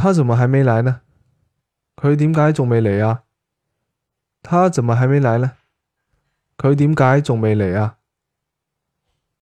他怎么还没來呢？佢點解仲未嚟啊？他怎麼還沒來呢？佢點解仲未嚟啊？